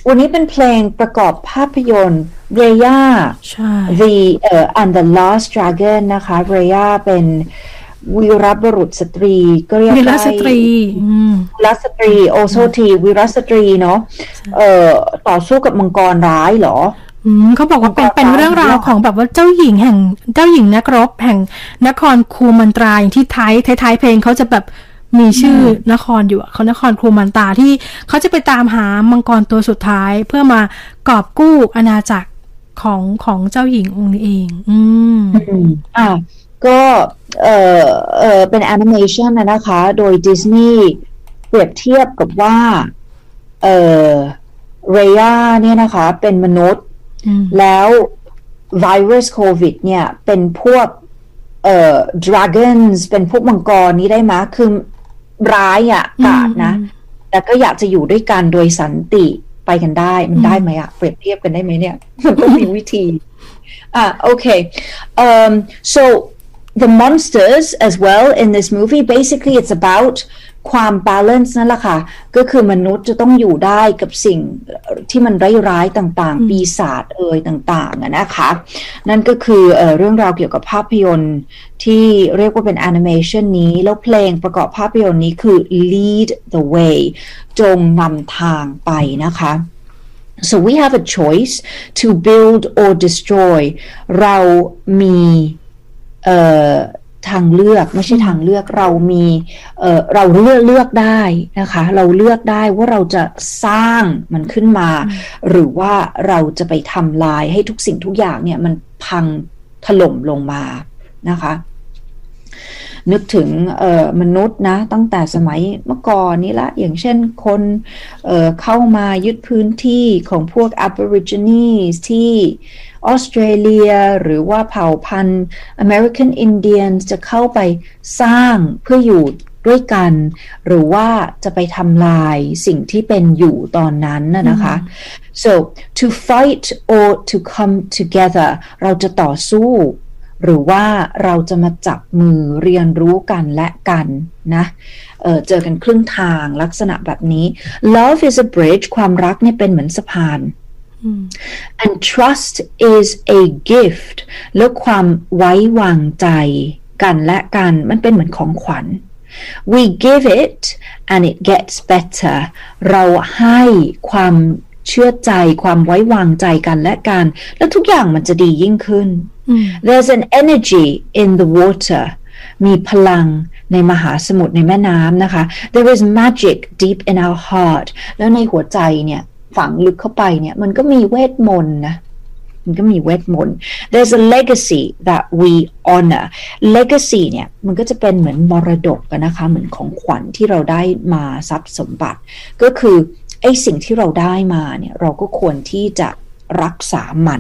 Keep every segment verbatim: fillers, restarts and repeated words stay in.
วันนี้เป็นเพลงประกอบภาพยนตร์ Raya ใช่ The เอ่อ and the Last Dragon นะคะ Raya เป็นวีรบุรุษสตรีก็เรียกวีรได้สตรีอืมวีรสตรีโอโซทีวีรสตรีเนาะเอ่อต่อสู้กับมังกรร้ายเหรออืมเขาบอกว่าเป็นเป็นเรื่องราวของแบบว่าเจ้าหญิงแห่งเจ้าหญิงนักรบแห่งนครคูมันตราอย่างที่ท้ายท้ายเพลงเขาจะแบบมีชื่อนครอยู่เขานครคูมันตราที่เขาจะไปตามหามังกรตัวสุดท้ายเพื่อมากอบกู้อาณาจักรของของเจ้าหญิงองค์นี้เองอืมอ่าก็เออเออเป็นแอนิเมชันนะนะคะโดยดิสนีย์เปรียบเทียบกับว่าเออเรย่าเนี่ยนะคะเป็นมนุษย์แล้วไวรัสโควิดเนี่ยเป็นพวกเอ่อ dragons เป็นพวกมังกรนี้ได้ไหมคือร้ายอ่ะกาดนะแต่ก็อยากจะอยู่ด้วยกันโดยสันติไปกันได้มันได้ไหมอ่ะเปรียบเทียบกันได้ไหมเนี่ยมันต้องมีวิธีอ่ะโอเค um so the monsters as well in this movie basically it's about ความ balance นั่นแหละค่ะก็คือมนุษย์จะต้องอยู่ได้กับสิ่งที่มันร้ายๆต่างๆปีศาจเอ่ยต่างๆนะคะนั่นก็คือเอ่อเรื่องราวเกี่ยวกับภาพยนตร์ที่เรียกว่าเป็นแอนิเมชันนี้แล้วเพลงประกอบภาพยนตร์นี้คือ lead the way จงนำทางไปนะคะ so we have a choice to build or destroy เรามีเอ่อทางเลือกไม่ใช่ทางเลือกเรามีเอ่อเราเลือกเลือกได้นะคะเราเลือกได้ว่าเราจะสร้างมันขึ้นมาหรือว่าเราจะไปทำลายให้ทุกสิ่งทุกอย่างเนี่ยมันพังถล่มลงมานะคะนึกถึงเอ่อมนุษย์นะตั้งแต่สมัยเมื่อก่อนนี้ละอย่างเช่นคนเอ่อเข้ามายึดพื้นที่ของพวก Aborigines ที่ออสเตรเลียหรือว่าเผ่าพันธุ์ American Indians จะเข้าไปสร้างเพื่ออยู่ด้วยกันหรือว่าจะไปทำลายสิ่งที่เป็นอยู่ตอนนั้นนะคะ so to fight or to come together เราจะต่อสู้หรือว่าเราจะมาจับมือเรียนรู้กันและกันนะเอ่อเจอกันครึ่งทางลักษณะแบบนี้ love is a bridge ความรักเนี่ยเป็นเหมือนสะพาน and trust is a gift แล้วความไว้วางใจกันและกันมันเป็นเหมือนของขวัญ we give it and it gets better เราให้ความเชื่อใจความไว้วางใจกันและกันแล้วทุกอย่างมันจะดียิ่งขึ้น there's an energy in the water มีพลังในมหาสมุทรในแม่น้ำนะคะ there is magic deep in our heart แล้วในหัวใจเนี่ยฝังลึกเข้าไปเนี่ยมันก็มีเวทมนต์นะมันก็มีเวทมนต์ there's a legacy that we honor legacy เนี่ยมันก็จะเป็นเหมือนมรดกนะคะเหมือนของขวัญที่เราได้มาทรัพย์สมบัติก็คือไอ้สิ่งที่เราได้มาเนี่ยเราก็ควรที่จะรักษามัน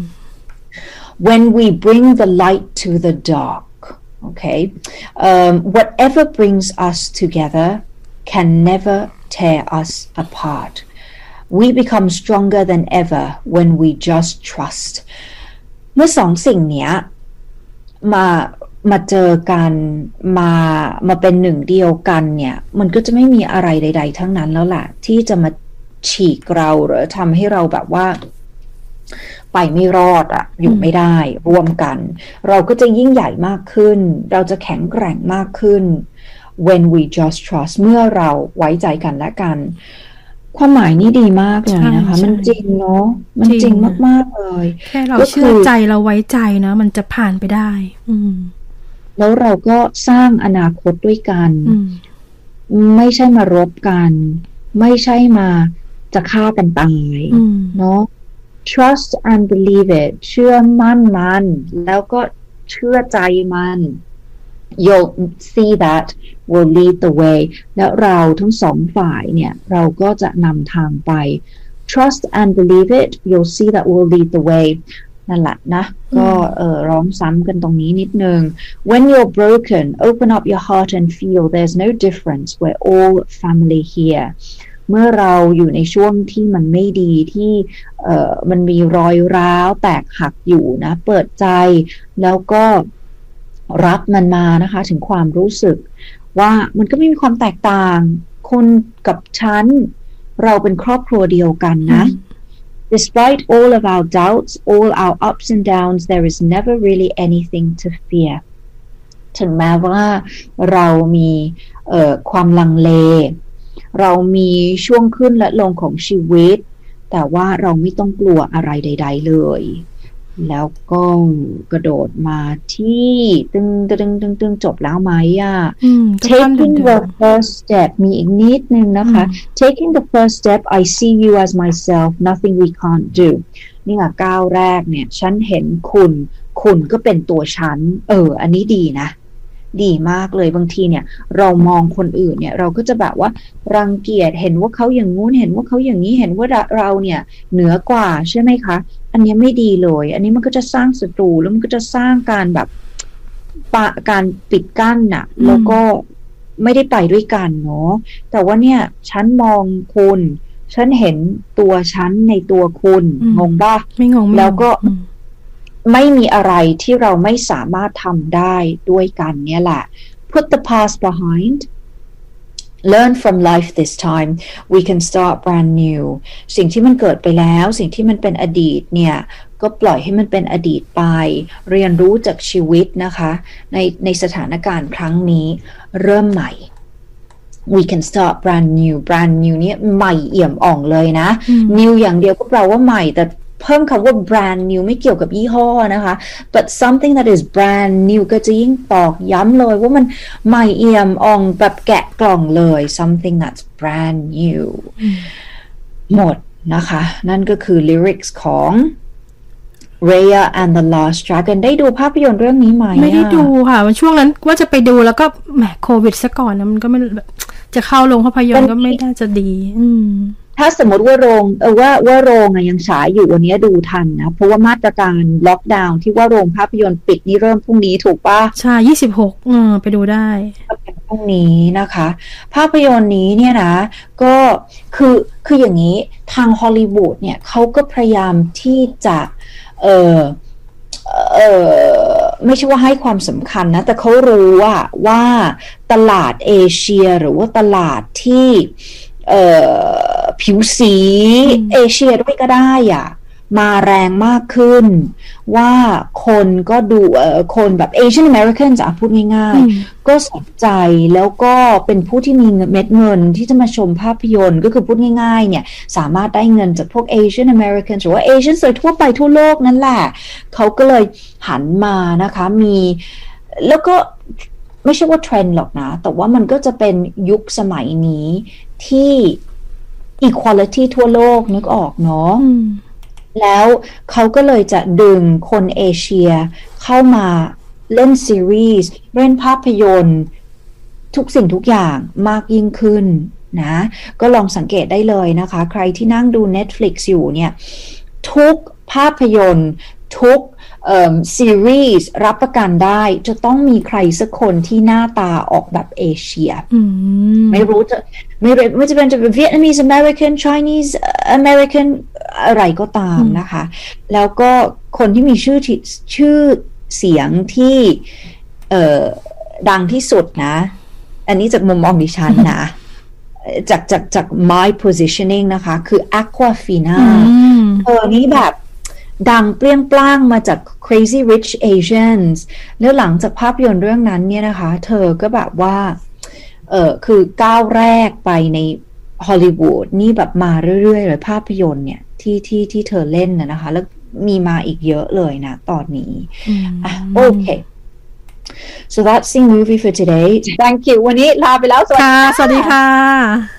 when we bring the light to the dark okay um, whatever brings us together can never tear us apart we become stronger than ever when we just trust เมื่อสองสิ่งเนี้ยมามาเจอกันมามาเป็นหนึ่งเดียวกันเนี่ยมันก็จะไม่มีอะไรใดๆทั้งนั้นแล้วล่ะที่จะมาฉีกเราหรือทำให้เราแบบว่าไปไม่รอดอะอยู่ไม่ได้ร่วมกันเราก็จะยิ่งใหญ่มากขึ้นเราจะแข็งแกร่งมากขึ้น when we just trust เมื่อเราไว้ใจกันและกันความหมายนี้ดีมากเลยนะคะมันจริงเนาะมันจริงมากๆเลยแค่เราเชื่อใจเราไว้ใจนะมันจะผ่านไปได้อืมแล้วเราก็สร้างอนาคตด้วยกันไม่ใช่มารบกันไม่ใช่มาจะฆ่ากันตายเนาะ trust and believe it เชื่อมั่นมันแล้วก็เชื่อใจมัน you'll see that will lead the way และเราทั้งสองฝ่ายเนี่ยเราก็จะนำทางไป trust and believe it you'll see that will lead the way นั่นแหละนะก็เอ่อร้องซ้ำกันตรงนี้นิดนึง when you're broken open up your heart and feel there's no difference we're all family here เมื่อเราอยู่ในช่วงที่มันไม่ดีที่เอ่อมันมีรอยร้าวแตกหักอยู่นะเปิดใจแล้วก็รับมันมานะคะถึงความรู้สึกว่ามันก็ไม่มีความแตกต่างคุณกับฉันเราเป็นครอบครัวเดียวกันนะ Despite all of our doubts, all our ups and downs, there is never really anything to fear. ถึงแม้ว่าเรามีเอ่อความลังเลเรามีช่วงขึ้นและลงของชีวิตแต่ว่าเราไม่ต้องกลัวอะไรใดๆเลยแล้วก็กระโดดมาที่ตึงตึงตึงตึงจบแล้วไหมอ่ะ taking the first step มีอีกนิดนึงนะคะ taking the first step I see you as myself nothing we can't do นี่ค่ะก้าวแรกเนี่ยฉันเห็นคุณคุณก็เป็นตัวฉันเอออันนี้ดีนะดีมากเลยบางทีเนี่ยเรามองคนอื่นเนี่ยเราก็จะแบบว่ารังเกียจเห็นว่าเขาอย่างงู้นเห็นว่าเขาอย่างนี้เห็นว่าเราเนี่ยเหนือกว่าใช่ไหมคะอันนี้ไม่ดีเลยอันนี้มันก็จะสร้างศัตรูแล้วมันก็จะสร้างการแบบปะการปิดกั้นน่ะแล้วก็ไม่ได้ไปด้วยกันเนาะแต่ว่าเนี่ยฉันมองคุณฉันเห็นตัวฉันในตัวคุณงงป่ะไม่งงแล้วก็ไม่มีอะไรที่เราไม่สามารถทำได้ด้วยกันเนี่ยแหละ Put the past behind Learn from life this time we can start brand new สิ่งที่มันเกิดไปแล้วสิ่งที่มันเป็นอดีตเนี่ยก็ปล่อยให้มันเป็นอดีตไปเรียนรู้จากชีวิตนะคะในในสถานการณ์ครั้งนี้เริ่มใหม่ we can start brand new brand new เนี่ยใหม่เอี่ยมอ่องเลยนะ new อย่างเดียวก็แปลว่าใหม่แต่เพิ่มคำว่า brand new ไม่เกี่ยวกับยี่ห้อนะคะ but something that is brand new ก็จะยิ่งตอกย้ำเลยว่ามันใหม่เอี่ยมอ่องแบบแกะกล่องเลย something that's brand new หมดนะคะนั่นก็คือ lyrics ของ Raya and the Lost Dragon ได้ดูภาพยนตร์เรื่องนี้ไหมไม่ได้ดูค่ะวันช่วงนั้นว่าจะไปดูแล้วก็แหมโควิดซะก่อนนะมันก็ไม่จะเข้าโรงภาพยนตร์ก็ไม่น่าจะดีอืมถ้าสมมติว่าโรงเออว่าว่าโรงอะยังฉายอยู่วันนี้ดูทันนะเพราะว่ามาตรการล็อกดาวน์ที่ว่าโรงภาพยนตร์ปิดนี่เริ่มพรุ่งนี้ถูกปะใช่ยี่สิบหกเออไปดูได้พรุ่งนี้นะคะภาพยนตร์นี้เนี่ยนะก็คือคืออย่างนี้ทางฮอลลีวูดเนี่ยเขาก็พยายามที่จะเออเออไม่ใช่ว่าให้ความสำคัญนะแต่เขารู้ว่าว่าตลาดเอเชียหรือว่าตลาดที่เอ่อผิวสีเอเชียด้วยก็ได้อ่ะมาแรงมากขึ้นว่าคนก็ดูเอ่อคนแบบ Asian Americans อ่ะพูดง่ายๆก็สนใจแล้วก็เป็นผู้ที่มีเม็ดเงินที่จะมาชมภาพยนตร์ก็คือพูดง่ายๆเนี่ยสามารถได้เงินจากพวก Asian Americans หรือว่า Asian โดยทั่วไปทั่วโลกนั่นแหละเขาก็เลยหันมานะคะมีแล้วก็ไม่ใช่ว่าเทรนด์หรอกนะแต่ว่ามันก็จะเป็นยุคสมัยนี้ที่ equality ทั่วโลกนึกออกเนาะแล้วเขาก็เลยจะดึงคนเอเชียเข้ามาเล่นซีรีส์เล่นภาพยนตร์ทุกสิ่งทุกอย่างมากยิ่งขึ้นนะก็ลองสังเกตได้เลยนะคะใครที่นั่งดู Netflix อยู่เนี่ยทุกภาพยนตร์ทุกซีรีส์รับประกันได้จะต้องมีใครสักคนที่หน้าตาออกแบบเอเชียไม่รู้จะไม่ไม่จะเป็นจะเป็น Vietnamese American Chinese American อะไรก็ตามนะคะแล้วก็คนที่มีชื่อชื่อเสียงที่ดังที่สุดนะอันนี้จากมุมมองดิฉันนะจากจากจาก my positioning นะคะคือ Aquafina เออนี้แบบดังเปรี้ยงปร้างมาจาก Crazy Rich Asians แล้วหลังจากภาพยนตร์เรื่องนั้นเนี่ยนะคะเธอก็แบบว่าเออคือก้าวแรกไปในฮอลลีวูดนี่แบบมาเรื่อยๆเลยภาพยนตร์เนี่ยที่ที่ที่เธอเล่นนะนะคะแล้วมีมาอีกเยอะเลยนะตอนนี้อ่ะโอเค so that's the movie for today thank you วันนี้ลาไปแล้วสวัสดีค่ะสวัสดีค่ะ